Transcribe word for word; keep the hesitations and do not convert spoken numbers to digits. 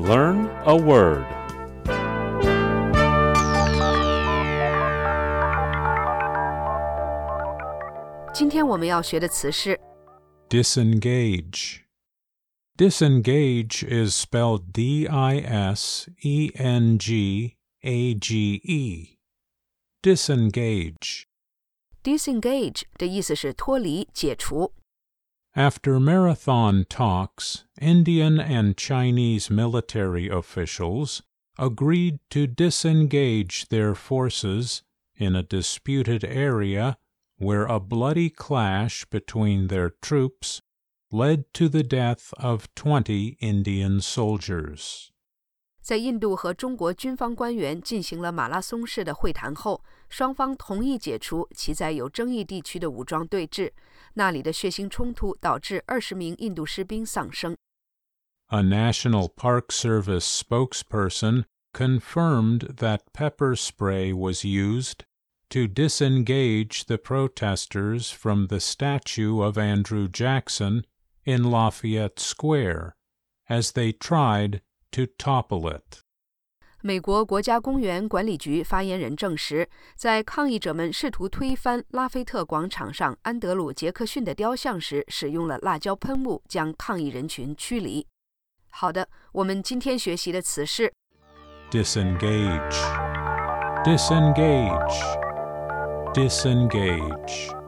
Learn a word. Disengage. 今天我们要学的词是 Disengage. Disengage is spelled D I S E N G A G E. Disengage. disengage 的意思是脱离、解除。 After marathon talks, Indian and Chinese military officials agreed to disengage their forces in a disputed area where a bloody clash between their troops led to the death of twenty Indian soldiers. 在印度和中国军方官员进行了马拉松式的会谈后，双方同意解除其在有争议地区的武装对峙，那里的血腥冲突导致二十名印度士兵丧生。 A National Park Service spokesperson confirmed that pepper spray was used to disengage the protesters from the statue of Andrew Jackson in Lafayette Square as they tried to topple it. 美国国家公园管理局发言人证实，在抗议者们试图推翻拉菲特广场上安德鲁·杰克逊的雕像时，使用了辣椒喷雾将抗议人群驱离。好的，我们今天学习的词是 Disengage. Disengage. Disengage.